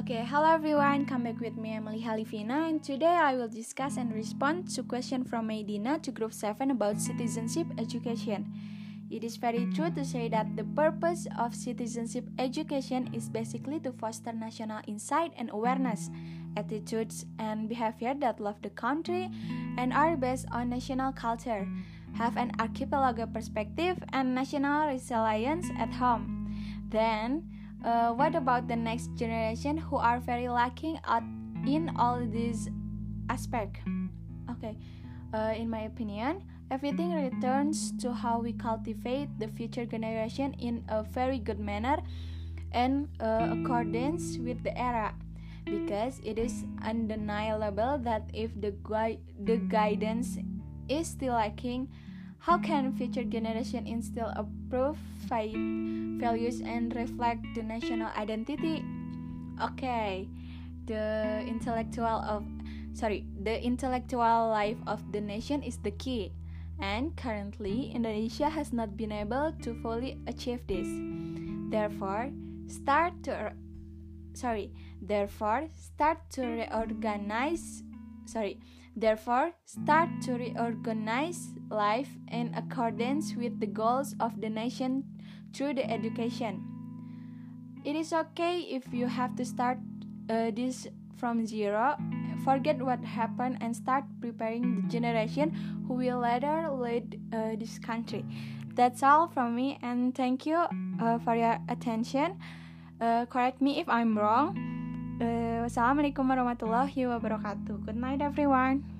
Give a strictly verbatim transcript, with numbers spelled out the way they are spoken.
Okay, hello everyone, come back with me Emily Halifina, and today I will discuss and respond to question from Medina to group seven about citizenship education. It is very true to say that the purpose of citizenship education is basically to foster national insight and awareness, attitudes and behavior that love the country and are based on national culture, have an archipelago perspective and national resilience at home. Then, Uh, what about the next generation who are very lacking out in all these aspects? Okay, uh, in my opinion, everything returns to how we cultivate the future generation in a very good manner and uh, accordance with the era, because it is undeniable that if the gui- the guidance is still lacking, how can future generation instill approved values and reflect the national identity? Okay, the intellectual of sorry, the intellectual life of the nation is the key, and currently Indonesia has not been able to fully achieve this. Therefore, start to sorry, therefore start to reorganize sorry Therefore, start to reorganize life in accordance with the goals of the nation through the education. It is okay if you have to start uh, this from zero, forget what happened and start preparing the generation who will later lead uh, this country. That's all from me, and thank you uh, for your attention. Uh, correct me if I'm wrong. Uh, wassalamualaikum warahmatullahi wabarakatuh. Good night everyone.